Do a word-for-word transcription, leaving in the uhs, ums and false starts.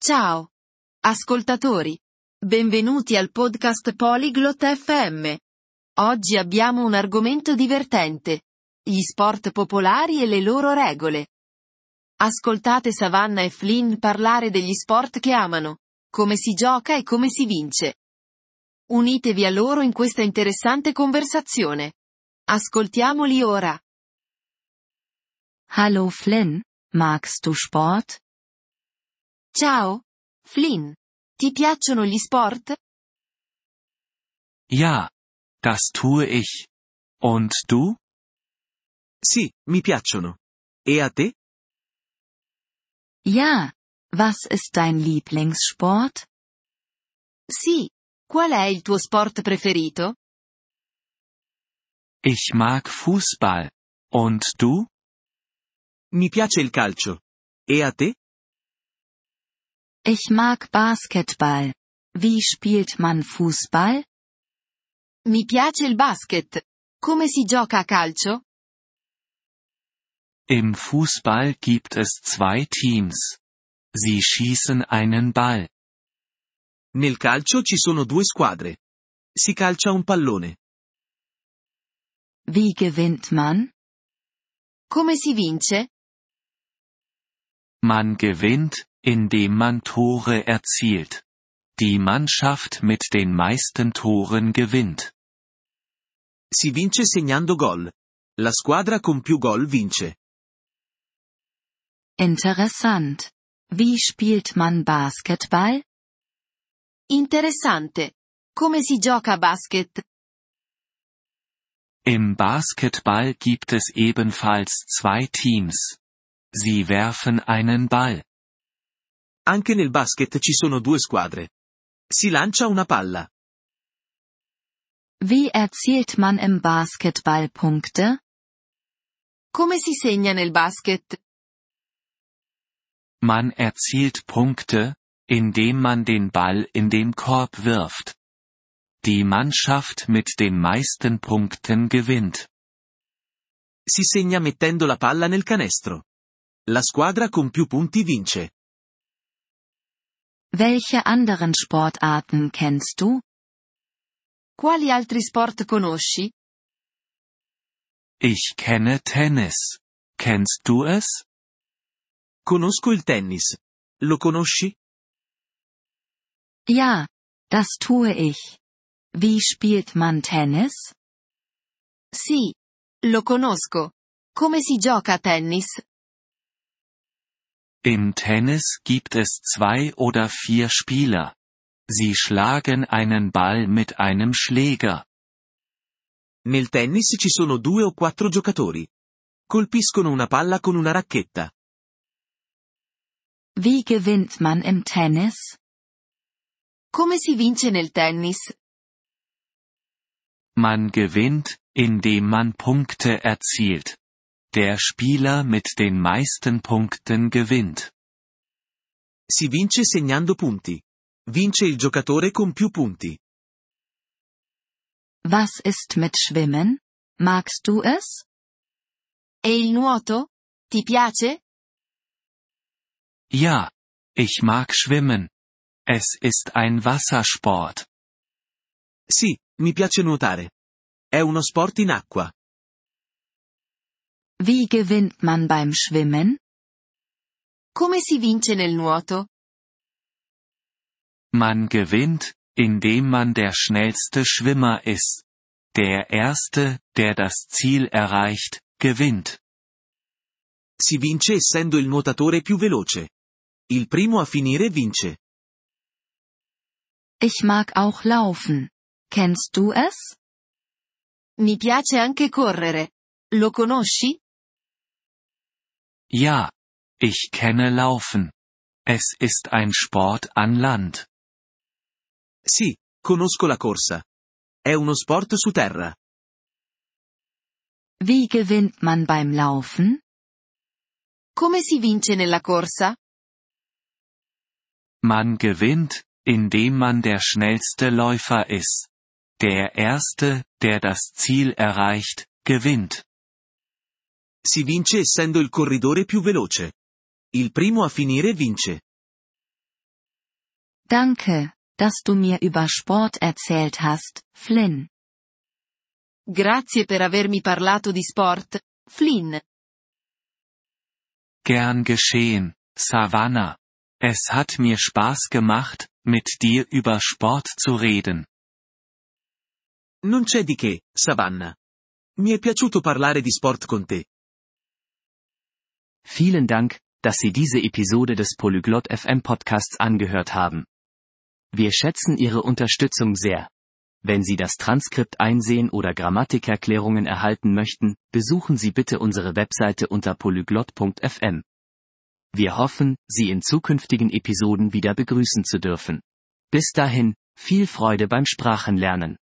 Ciao, ascoltatori. Benvenuti al podcast Polyglot F M. Oggi abbiamo un argomento divertente. Gli sport popolari e le loro regole. Ascoltate Savannah e Flynn parlare degli sport che amano, come si gioca e come si vince. Unitevi a loro in questa interessante conversazione. Ascoltiamoli ora. Hallo Flynn, magst du Sport? Ciao, Flynn. Ti piacciono gli sport? Ja, das tue ich. Und du? Sì, mi piacciono. E a te? Ja, was ist dein Lieblingssport? Sì. Qual è il tuo sport preferito? Ich mag Fußball. Und du? Mi piace il calcio. E a te? Ich mag Basketball. Wie spielt man Fußball? Mi piace il basket. Come si gioca a calcio? Im Fußball gibt es zwei Teams. Sie schießen einen Ball. Nel calcio ci sono due squadre. Si calcia un pallone. Wie gewinnt man? Come si vince? Man gewinnt, indem man Tore erzielt. Die Mannschaft mit den meisten Toren gewinnt. Si vince segnando gol. La squadra con più gol vince. Interessant. Wie spielt man Basketball? Interessante. Come si gioca a basket? Im Basketball gibt es ebenfalls zwei Teams. Sie werfen einen Ball. Anche nel basket ci sono due squadre. Si lancia una palla. Wie erzielt man im Basketball Punkte? Come si segna nel basket? Man erzielt Punkte, indem man den Ball in den Korb wirft. Die Mannschaft mit den meisten Punkten gewinnt. Si segna mettendo la palla nel canestro. La squadra con più punti vince. Welche anderen Sportarten kennst du? Quali altri sport conosci? Ich kenne Tennis. Kennst du es? Conosco il tennis. Lo conosci? Ja, das tue ich. Wie spielt man Tennis? Sì. Lo conosco. Come si gioca a tennis? Im Tennis gibt es zwei oder vier Spieler. Sie schlagen einen Ball mit einem Schläger. Nel tennis ci sono due o quattro giocatori. Colpiscono una palla con una racchetta. Wie gewinnt man im Tennis? Come si vince nel tennis? Man gewinnt, indem man Punkte erzielt. Der Spieler mit den meisten Punkten gewinnt. Si vince segnando punti. Vince il giocatore con più punti. Was ist mit Schwimmen? Magst du es? E il nuoto? Ti piace? Ja, ich mag schwimmen. Es ist ein Wassersport. Sì, mi piace nuotare. È uno sport in acqua. Wie gewinnt man beim Schwimmen? Come si vince nel nuoto? Man gewinnt, indem man der schnellste Schwimmer ist. Der Erste, der das Ziel erreicht, gewinnt. Si vince essendo il nuotatore più veloce. Il primo a finire vince. Ich mag auch laufen. Kennst du es? Mi piace anche correre. Lo conosci? Ja, ich kenne Laufen. Es ist ein Sport an Land. Sì, conosco la corsa. È uno sport su terra. Wie gewinnt man beim Laufen? Come si vince nella corsa? Man gewinnt, indem man der schnellste Läufer ist. Der Erste, der das Ziel erreicht, gewinnt. Si vince essendo il corridore più veloce. Il primo a finire vince. Danke, dass du mir über Sport erzählt hast, Flynn. Grazie per avermi parlato di sport, Flynn. Gern geschehen, Savannah. Es hat mir Spaß gemacht, mit dir über Sport zu reden. Non c'è di che, Savannah. Mi è piaciuto parlare di sport con te. Vielen Dank, dass Sie diese Episode des Polyglot F M Podcasts angehört haben. Wir schätzen Ihre Unterstützung sehr. Wenn Sie das Transkript einsehen oder Grammatikerklärungen erhalten möchten, besuchen Sie bitte unsere Webseite unter polyglot punkt f m. Wir hoffen, Sie in zukünftigen Episoden wieder begrüßen zu dürfen. Bis dahin, viel Freude beim Sprachenlernen.